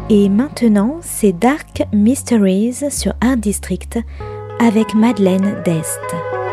Et maintenant, c'est Dark Mysteries sur Art District avec Madeleine Dest.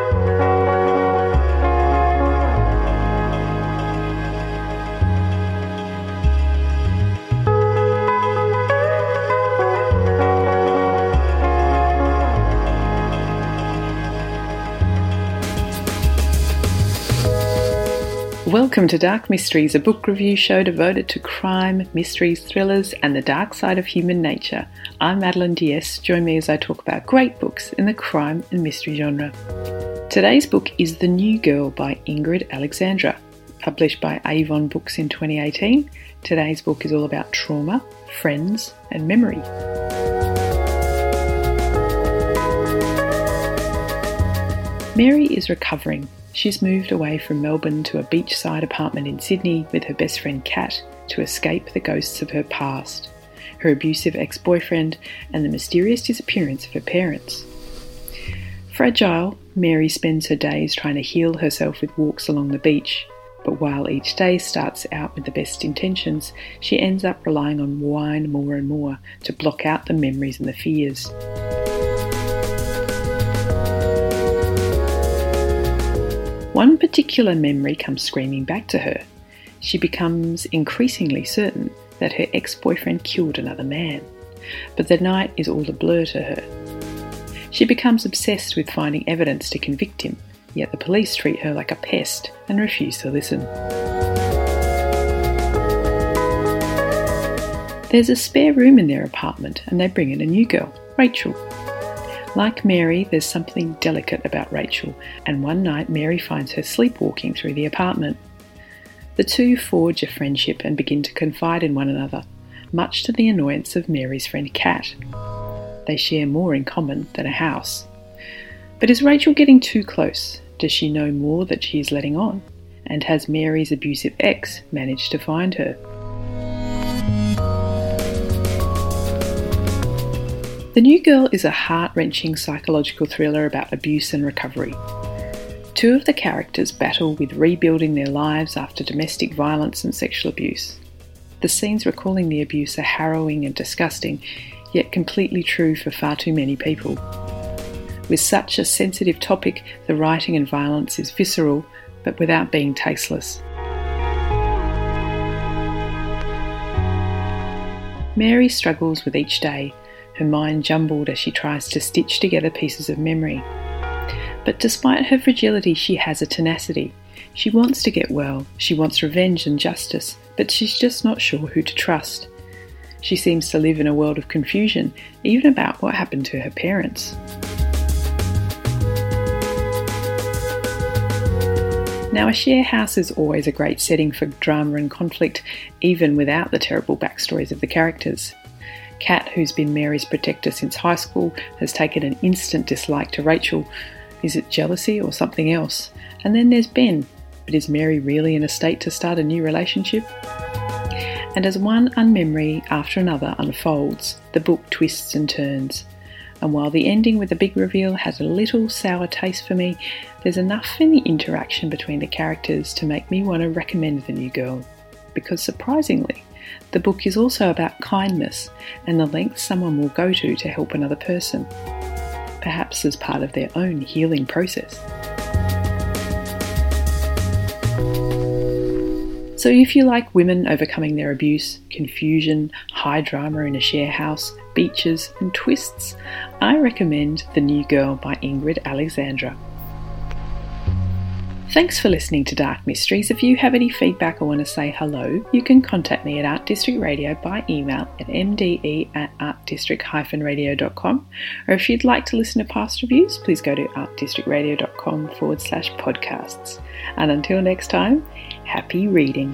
Welcome to Dark Mysteries, a book review show devoted to crime, mysteries, thrillers, and the dark side of human nature. I'm Madeleine Diest. Join me as I talk about great books in the crime and mystery genre. Today's book is The New Girl by Ingrid Alexandra. Published by Avon Books in 2018, today's book is all about trauma, friends, and memory. Mary is recovering. She's moved away from Melbourne to a beachside apartment in Sydney with her best friend Kat to escape the ghosts of her past, her abusive ex-boyfriend, and the mysterious disappearance of her parents. Fragile, Mary spends her days trying to heal herself with walks along the beach, but while each day starts out with the best intentions, she ends up relying on wine more and more to block out the memories and the fears. One particular memory comes screaming back to her. She becomes increasingly certain that her ex-boyfriend killed another man, but the night is all a blur to her. She becomes obsessed with finding evidence to convict him, yet the police treat her like a pest and refuse to listen. There's a spare room in their apartment and they bring in a new girl, Rachel. Like Mary, there's something delicate about Rachel, and one night Mary finds her sleepwalking through the apartment. The two forge a friendship and begin to confide in one another, much to the annoyance of Mary's friend Kat. They share more in common than a house. But is Rachel getting too close? Does she know more that she is letting on? And has Mary's abusive ex managed to find her? The New Girl is a heart-wrenching psychological thriller about abuse and recovery. Two of the characters battle with rebuilding their lives after domestic violence and sexual abuse. The scenes recalling the abuse are harrowing and disgusting, yet completely true for far too many people. With such a sensitive topic, the writing and violence is visceral, but without being tasteless. Mary struggles with each day, her mind jumbled as she tries to stitch together pieces of memory. But despite her fragility, she has a tenacity. She wants to get well, she wants revenge and justice, but she's just not sure who to trust. She seems to live in a world of confusion, even about what happened to her parents. Now, a share house is always a great setting for drama and conflict, even without the terrible backstories of the characters. Kat, who's been Mary's protector since high school, has taken an instant dislike to Rachel. Is it jealousy or something else? And then there's Ben. But is Mary really in a state to start a new relationship? And as one unmemory after another unfolds, the book twists and turns. And while the ending with the big reveal has a little sour taste for me, there's enough in the interaction between the characters to make me want to recommend The New Girl. Because surprisingly, the book is also about kindness and the lengths someone will go to help another person, perhaps as part of their own healing process. So if you like women overcoming their abuse, confusion, high drama in a share house, beaches and twists, I recommend The New Girl by Ingrid Alexandra. Thanks for listening to Dark Mysteries. If you have any feedback or want to say hello, you can contact me at Art District Radio by email at mde@artdistrict-radio.com, or if you'd like to listen to past reviews, please go to artdistrictradio.com/podcasts. And until next time, happy reading.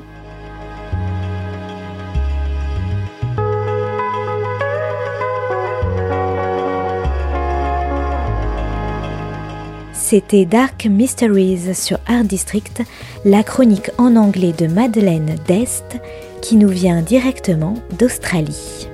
C'était Dark Mysteries sur Art District, la chronique en anglais de Madeleine Dest qui nous vient directement d'Australie.